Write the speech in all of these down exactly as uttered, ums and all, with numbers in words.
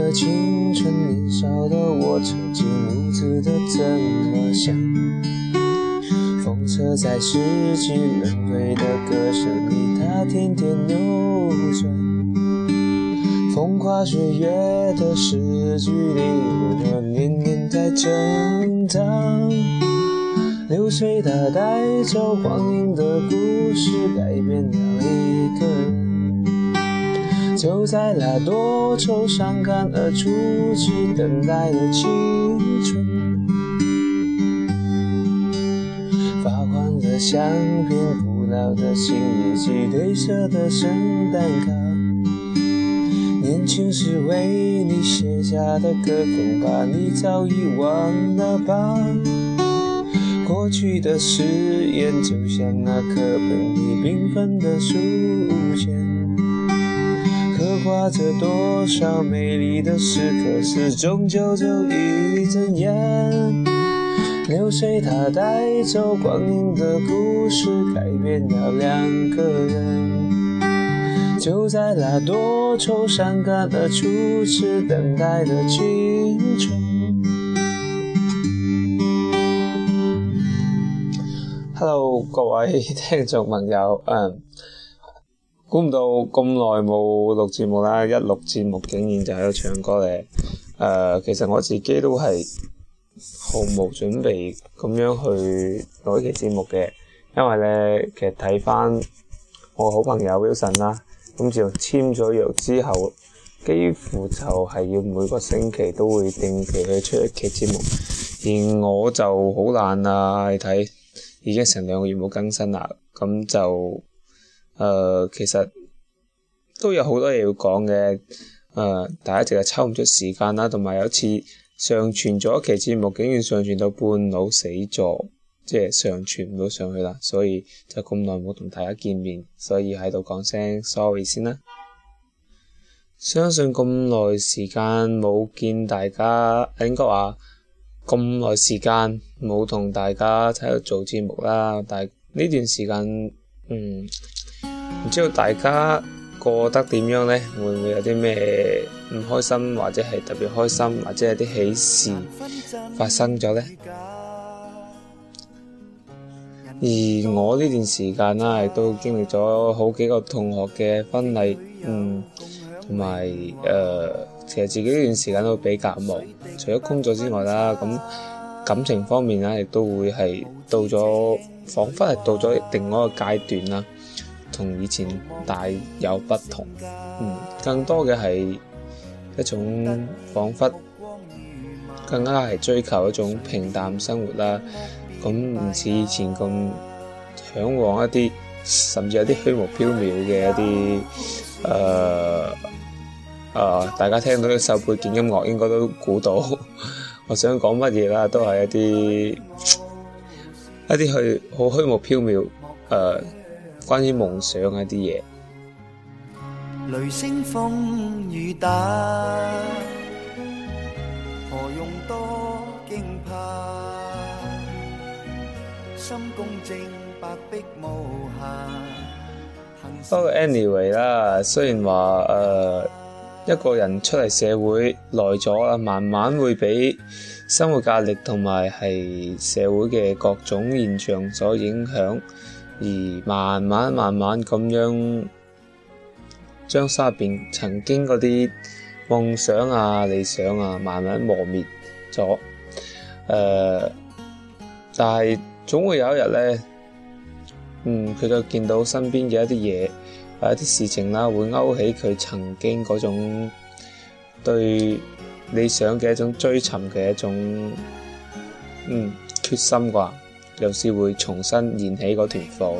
的青春，年少的我曾经无知的这么想。风车在四季轮回的歌声里，它天天扭转。风花雪月的诗句里，我年年在成长。流水它带走光阴的故事，改变了一个人。就在那多愁善感而初次等待的青春，发黄的相片，古老的新日记，褪色的圣诞卡，年轻时为你写下的歌，恐怕你早已忘了吧。过去的誓言就像那课本里缤纷的书签，刻画着多少美丽的时刻，是终究就一阵烟。流水它带走光阴的故事，改变了两个人。就在那多愁善感而初次等待的青春。Hello 各位聽眾朋友，誒估唔到咁耐冇錄節目啦，一錄節目竟然就喺度唱歌咧。誒、呃、其實我自己都係毫無準備咁樣去錄一期節目嘅，因為咧其實睇翻我好朋友 Wilson 啦，咁就簽咗約之後，幾乎就係要每個星期都會定期去出一期節目，而我就好懶啊，你睇。已經成兩個月冇更新啦，咁就誒、呃、其實都有好多嘢要講嘅，誒、呃、大家淨係抽唔出時間啦，同埋有一次上傳咗一期節目，竟然上傳到半路死咗，即係上傳唔到上去啦，所以就咁耐冇同大家見面，所以喺度講聲 sorry 先啦。相信咁耐時間冇見大家，應該話咁耐時間冇同大家喺度做節目啦，但係呢段時間，嗯，唔知道大家過得點樣呢？會唔會有啲咩唔開心，或者係特別開心，或者有啲喜事發生咗呢？而我呢段時間啦，亦都經歷咗好幾個同學嘅婚禮，嗯，同埋誒。其實自己呢段時間都比較忙，除咗工作之外啦，咁感情方面啦，亦都會係到咗，彷彿係到咗另外一個階段啦，同以前大有不同。嗯，更多嘅係一種彷彿更加係追求一種平淡生活啦，咁唔似以前咁嚮往一啲，甚至有啲虛無縹緲嘅一啲誒。呃誒、呃，大家聽到呢首背景音樂應該都估到我想講乜嘢啦，都係一啲一啲去好虛無縹緲誒，關於夢想嘅一啲嘢。雷聲風雨打，何用多驚怕，心公正白璧無瑕。不過 anyway 啦，雖然話誒。呃一個人出嚟社會耐咗啦，慢慢會俾生活壓力同埋係社會嘅各種現象所影響，而慢慢慢慢咁樣將心入邊曾經嗰啲夢想啊、理想啊，慢慢磨滅咗。誒、呃，但係總會有一日咧，嗯，佢就見到身邊嘅一啲嘢。有一啲事情啦，會勾起佢曾經嗰種對理想嘅一種追尋嘅一種嗯決心啩，有時會重新燃起嗰團火。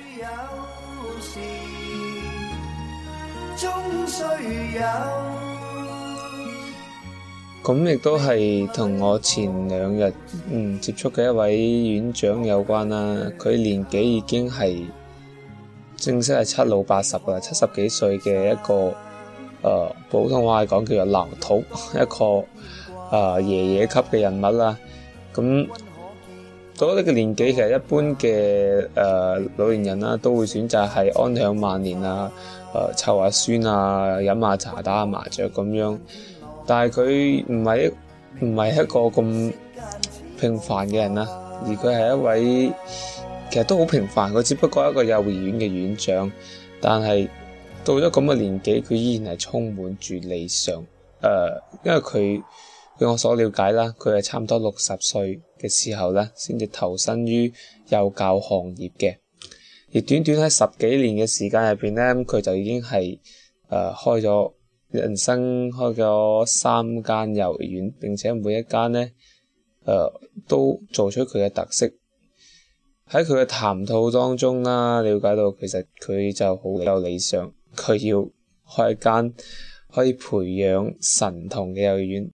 咁亦都係同我前兩日嗯接觸嘅一位院長有關啦，佢年紀已經係正式係七老八十㗎，七十幾歲嘅一個誒、呃、普通話嚟講叫做老頭，一個誒、呃、爺爺級嘅人物啦。咁到咗呢個年紀，其實一般嘅誒、呃、老年人啦，都會選擇係安享晚年啊，誒湊下孫啊，飲下茶，打下麻雀咁樣。 但係佢唔係唔係一個咁平凡嘅人啦，而佢係一位其實都好平凡，佢只不過係一個幼兒園嘅園長，但係到咗咁嘅年紀，佢依然係充滿住理想。誒、呃，因為佢據我所了解啦，佢係差唔多六十歲嘅時候咧，先至投身於幼教行業嘅。而短短喺十幾年嘅時間入邊咧，佢就已經係誒、呃、開咗人生開咗三間幼兒園，並且每一間咧誒都做出佢嘅特色。喺佢嘅談吐當中啦，了解到其實佢就好有理想，佢要開一間可以培養神童嘅幼兒園。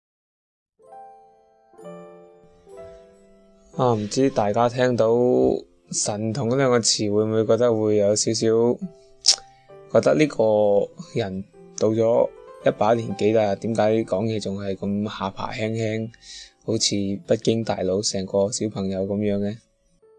啊，唔知大家聽到神童呢兩個詞會唔會覺得會有少少覺得呢個人到咗一把年紀啦，點解講嘢仲係咁下巴輕輕，好似不經大腦成個小朋友咁樣嘅？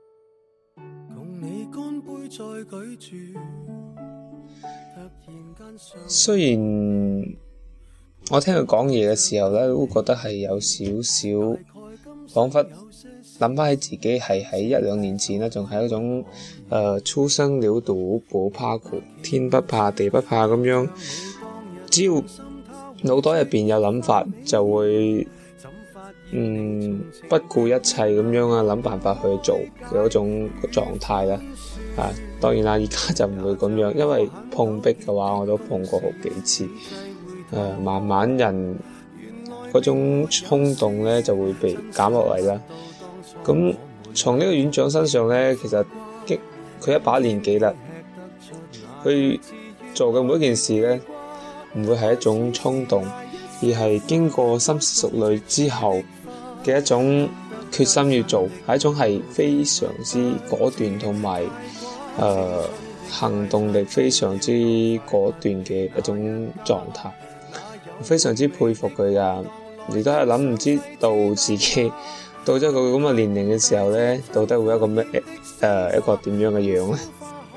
雖然我聽佢講嘢嘅時候咧，都覺得係有少少彷彿諗翻起自己係喺一兩年前咧，仲係一種誒初生牛犢不怕苦，天不怕地不怕咁樣，只要腦袋入邊有諗法，就會嗯不顧一切咁樣啊諗辦法去做嘅嗰種狀態啦。啊，當然啦，而家就唔會咁樣，因為碰壁嘅話，我都碰過好幾次。誒、呃，慢慢人嗰種衝動咧就會被減落嚟啦。咁從呢個院長身上咧，其實佢一把年紀啦，佢做嘅每一件事咧，唔會係一種衝動，而係經過深思熟慮之後嘅一種決心要做，係一種係非常之果斷同埋誒行動力非常之果斷嘅一種狀態，非常之佩服佢㗎。亦都係諗唔知道自己到咗佢咁嘅年齡嘅時候咧，到底會一個咩誒、呃、一個點樣嘅樣咧？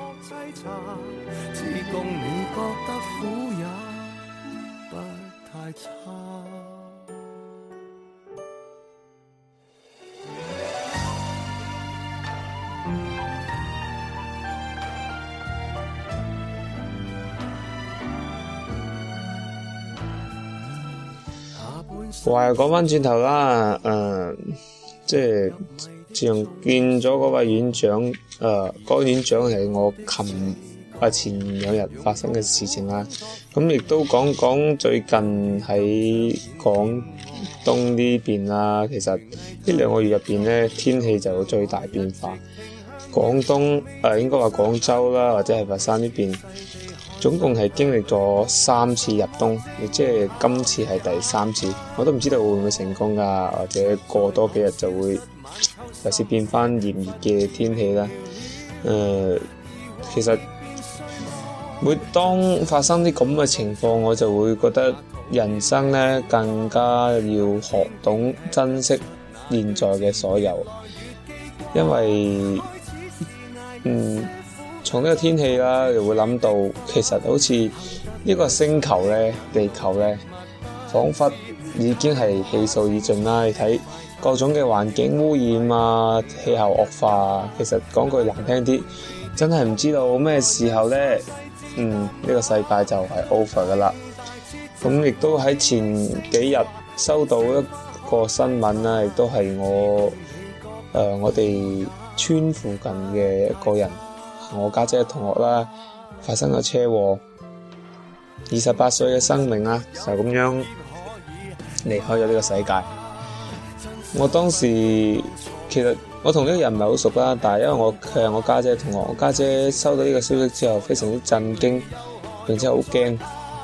話又講翻轉頭啦，誒、呃，即係自從見咗嗰位院長，誒、呃，嗰、那個院長係我琴啊前兩日發生嘅事情啦。咁亦都講講最近喺廣東呢邊啦，其實呢兩個月入邊咧，天氣就有最大變化。廣東誒、呃、應該話廣州啦，或者係佛山呢邊，總共係經歷咗三次入冬，亦即係今次係第三次，我都唔知道會唔會成功㗎，或者過多幾日就會又是變翻炎熱嘅天氣啦。誒、呃，其實每當發生啲咁嘅情況，我就會覺得人生咧更加要學懂珍惜現在嘅所有，因為嗯。從呢個天氣啦，又會諗到其實好似呢個星球咧、地球咧，彷彿已經係氣數已盡啦。你睇各種嘅環境污染啊、氣候惡化啊，其實講句難聽啲，真係唔知道咩時候咧，嗯，呢、這個世界就係 over 噶啦。咁亦都喺前幾日收到一個新聞啦，亦都係我誒、呃、我哋村附近嘅一個人。我家姐嘅同學啦，發生咗車禍，二十八歲嘅生命啦，就咁樣離開咗呢個世界。我當時其實我同呢個人唔係好熟啦，但係因為我佢係我家姐嘅同學，我家姐收到呢個消息之後非常之震驚，並且好驚，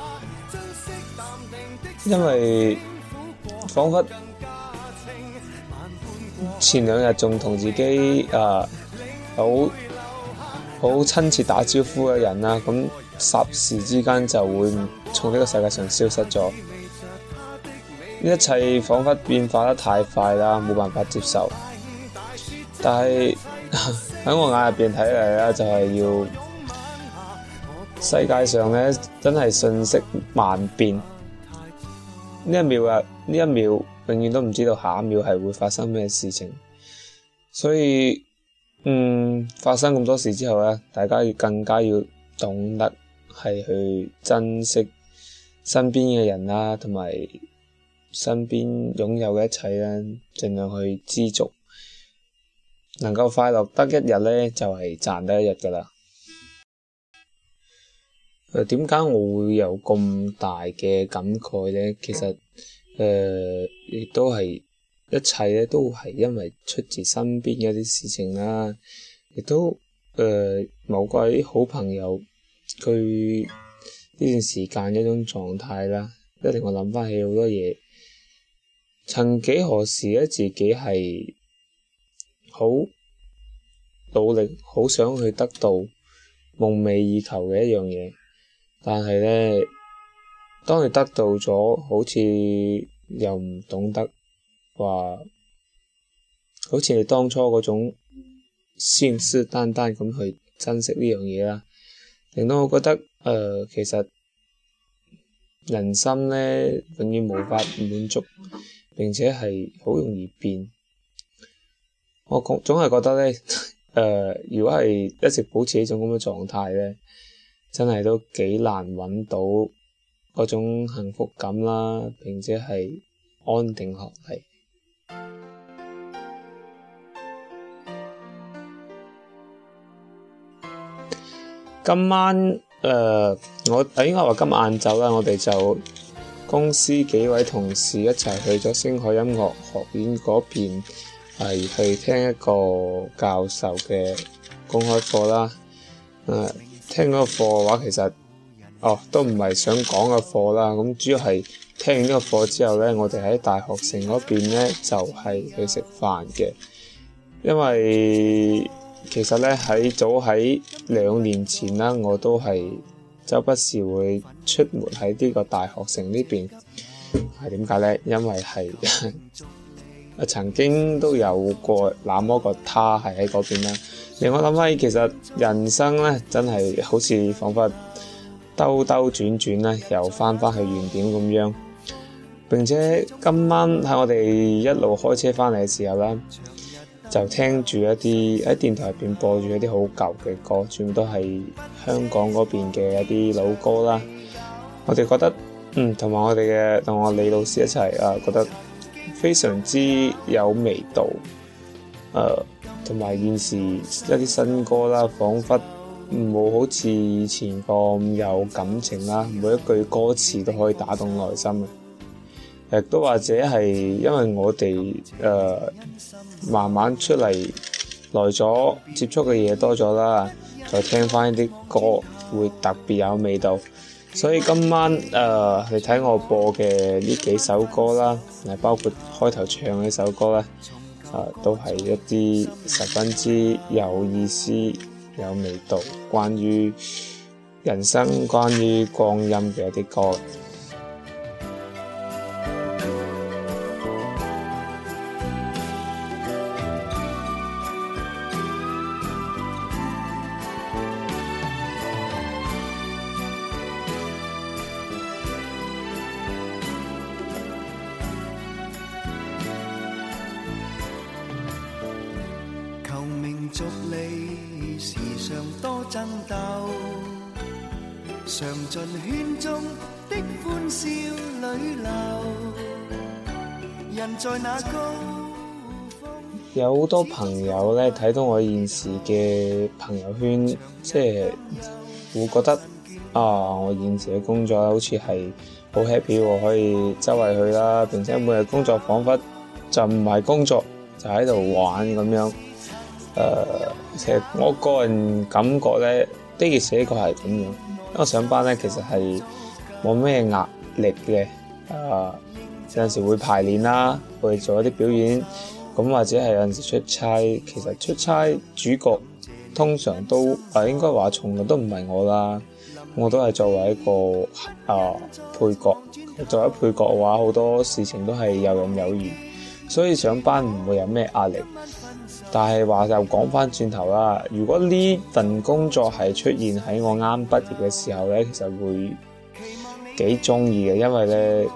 因為彷彿前兩日仲同自己啊好好親切打招呼嘅人啦，咁霎時之間就會從呢個世界上消失咗。呢一切彷彿變化得太快啦，冇辦法接受。但係喺我眼入邊睇嚟咧，就係要世界上咧真係瞬息萬變。 呢一秒啊，呢一秒永遠都唔知道下一秒係會發生咩事情，所以嗯發生咁多事之後咧，大家要更加要懂得係去珍惜身邊嘅人啦，同埋身邊擁有嘅一切啦，盡量去知足，能夠快樂得一日咧，就係、是、賺得一日噶啦。誒點解我會有咁大嘅感慨咧？其實誒亦、呃、都係一切咧，都係因為出自身邊嘅一啲事情啦，亦都誒、呃、某位好朋友佢呢段時間嘅一種狀態啦，一令我諗翻起好多嘢。曾幾何時咧，自己係好努力，好想去得到夢寐以求嘅一樣嘢。但係咧，當你得到咗，好似又唔懂得話，好似你當初嗰種信誓旦旦咁去珍惜呢樣嘢啦，令到我覺得誒、呃，其實人生咧永遠無法滿足，並且係好容易變。我總總係覺得咧，誒、呃，如果係一直保持呢種咁嘅狀態咧，真係都幾難揾到嗰種幸福感啦，並且係安定落嚟。今晚誒、呃，我應該話今晚晏晝啦，我哋就公司幾位同事一齊去咗星海音樂學院嗰邊，係去聽一個教授嘅公開課啦。誒、呃。聽嗰個課嘅話，其實哦都唔係想講嘅課啦。咁主要係聽完呢個課之後咧，我哋喺大學城嗰邊咧就係、是、去食飯嘅。因為其實咧喺早喺兩年前啦，我都係周不時會出沒喺呢個大學城呢邊。係點解咧？因為係曾經都有過那麼個他係喺嗰邊啦。令我諗翻起，其實人生咧真係好似彷彿兜兜轉轉咧，又翻返去原點咁樣。並且今晚喺我哋一路開車翻嚟嘅時候咧，就聽住一啲喺電台入邊播住一啲好舊嘅歌，全部都係香港嗰邊嘅一啲老歌啦。我哋覺得嗯，同埋我哋嘅同我李老師一齊啊，覺得非常之有味道。誒、呃。同埋現時一啲新歌啦，彷彿冇好似以前咁有感情啦，每一句歌詞都可以打動內心嘅。亦都或者係因為我哋誒、呃、慢慢出嚟來咗，接觸嘅嘢多咗啦，再聽翻啲歌會特別有味道。所以今晚誒、呃、你睇我播嘅呢幾首歌啦，誒包括開頭唱呢首歌咧。啊，都係一啲十分之有意思、有味道，關於人生、關於光陰嘅一啲歌。 逐利時常多爭鬥，嘗盡圈中的歡笑裏流，人在那高峰。 有好多朋友咧睇到我現時嘅朋友圈，即係會覺得啊，我現時嘅工作好似係好 happy 喎，可以周圍去啦，並且每日工作彷彿就唔係工作，就喺度玩咁樣。誒、呃，其實我個人感覺咧，的而且確係咁樣。因為我上班咧，其實係冇咩壓力嘅。誒、呃，有陣時會排練啦，會做一啲表演，咁或者係有陣時出差。其實出差主角通常都誒、呃，應該話從來都唔係我啦，我都係作為一個誒、呃、配角。作為配角嘅話，好多事情都係游刃有餘，所以上班唔會有咩壓力。但係話又講翻轉頭啦，如果呢份工作係出現喺我啱畢業嘅時候咧，其實會幾中意嘅，因為咧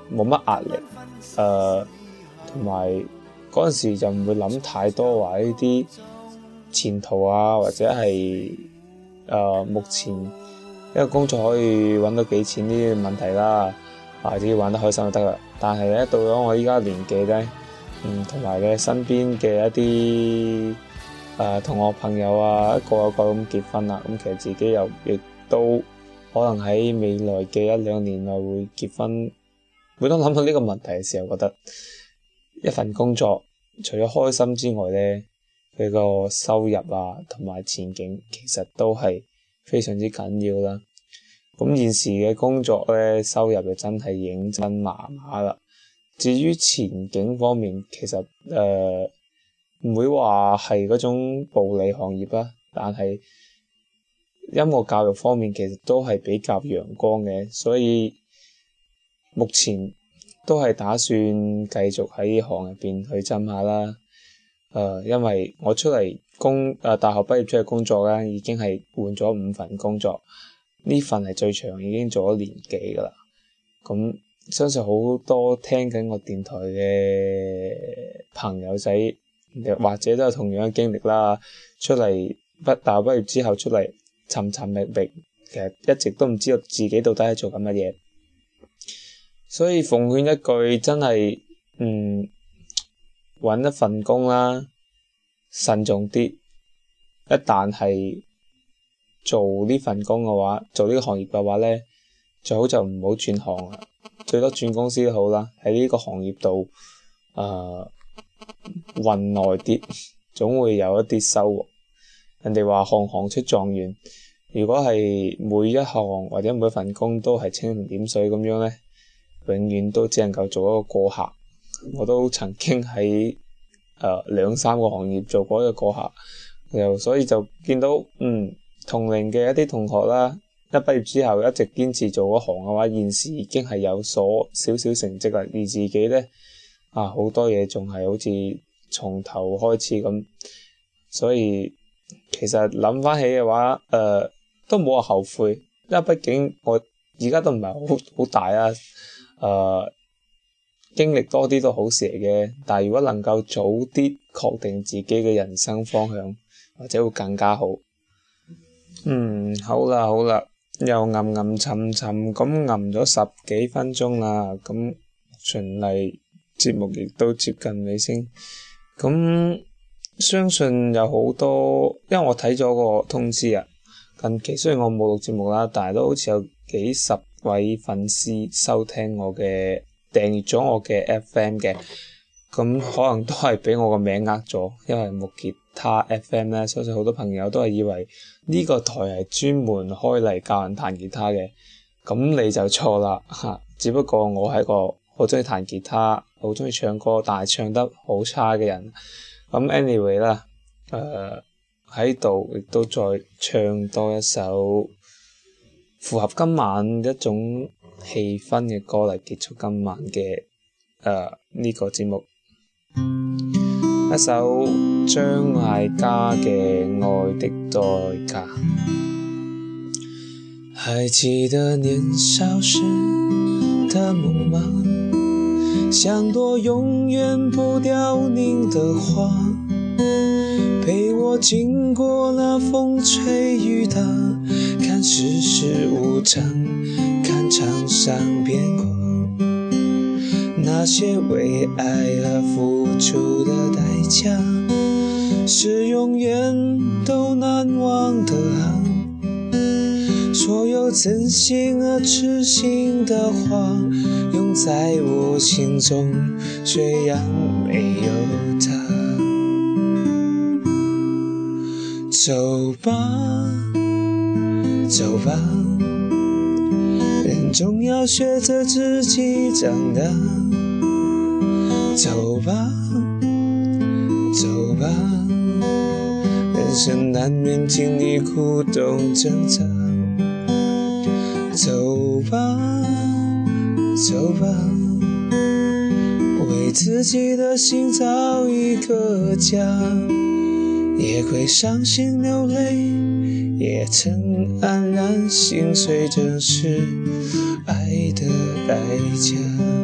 冇乜壓力，誒同埋嗰陣時就唔會諗太多話呢啲前途啊，或者係誒、呃、目前一個工作可以揾到幾錢呢啲問題啦，啊只要玩得開心就得啦。但係咧到咗我依家年紀咧，嗯同埋咧身邊嘅一啲誒同學朋友啊，一個一個咁結婚啦，咁其實自己又亦都可能喺未來嘅一兩年內會結婚。每當諗到呢個問題嘅時候，覺得一份工作除咗開心之外咧，佢個收入啊同埋前景其實都係非常之緊要啦。咁現時嘅工作咧，收入就真係認真麻麻啦。至於前景方面，其實誒唔會話係嗰種暴利行業啦，但係音樂教育方面其實都係比較陽光嘅，所以目前都係打算繼續喺呢行入邊去浸下啦。誒、呃，因為我出嚟工誒、呃、大學畢業出嚟工作咧，已經係換咗五份工作，呢份係最長，已經做咗年幾噶啦。咁相信好多聽緊我電台嘅朋友仔，或者都有同樣嘅經歷啦。出嚟畢大學畢業之後出嚟尋尋覓覓，其實一直都唔知道自己到底係做緊乜嘢。所以奉勸一句，真係嗯揾一份工啦，慎重啲。一旦係做呢份工嘅話，做呢個行業嘅話咧，最好就唔好轉行啦，最多轉公司都好啦。喺呢個行業度誒混耐啲，總會有一啲收穫。人哋話行行出狀元，如果係每一行或者每一份工都係蜻蜓點水咁樣咧，永遠都只能夠做一個過客。我都曾經喺誒兩三個行業做過一個過客，又所以就見到嗯同齡嘅一啲同學啦，一畢業之後一直堅持做嗰行嘅話，現時已經係有所少少成績啦。而自己咧啊好多嘢仲係好似從頭開始咁，所以其實諗翻起嘅話，誒、呃、都冇話後悔，因為畢竟我而家都唔係好好大啊。誒、呃，經歷多啲都好事嚟嘅，但係如果能夠早啲確定自己嘅人生方向，或者會更加好。嗯，好啦好啦，又吟吟沉沉咁吟咗十幾分鐘啦，咁循例節目亦都接近尾聲。咁相信有好多，因為我睇咗個通知啊，近期雖然我冇錄節目啦，但係都好似有幾十位粉絲收聽我嘅訂閱咗我嘅 F M 嘅，咁可能都係俾我個名呃咗，因為木吉他 F M 咧，相信好多朋友都係以為呢個台係專門開嚟教人彈吉他嘅，咁你就錯啦嚇。只不過我係一個好中意彈吉他、好中意唱歌，但係唱得好差嘅人。咁 anyway 啦，誒喺度亦都再唱多一首符合今晚一種氣氛嘅歌嚟結束今晚嘅誒呢個節目，一首張艾嘉嘅《愛的代價》。還記得年少時的夢嗎？像朵永遠不凋零的花，陪我經過那風吹雨打，看世事無常，看場上變化，那些為愛而付出的代價，是永遠都難忘的啊。所有真心而癡心的話，永在我心中，雖然沒有他。走吧，走吧，人總要學着自己長大。走吧，走吧，人生難免經歷苦痛掙扎。走吧，走吧，為自己的心找一個家，也會傷心流淚，也曾黯然心碎，這是愛的代價。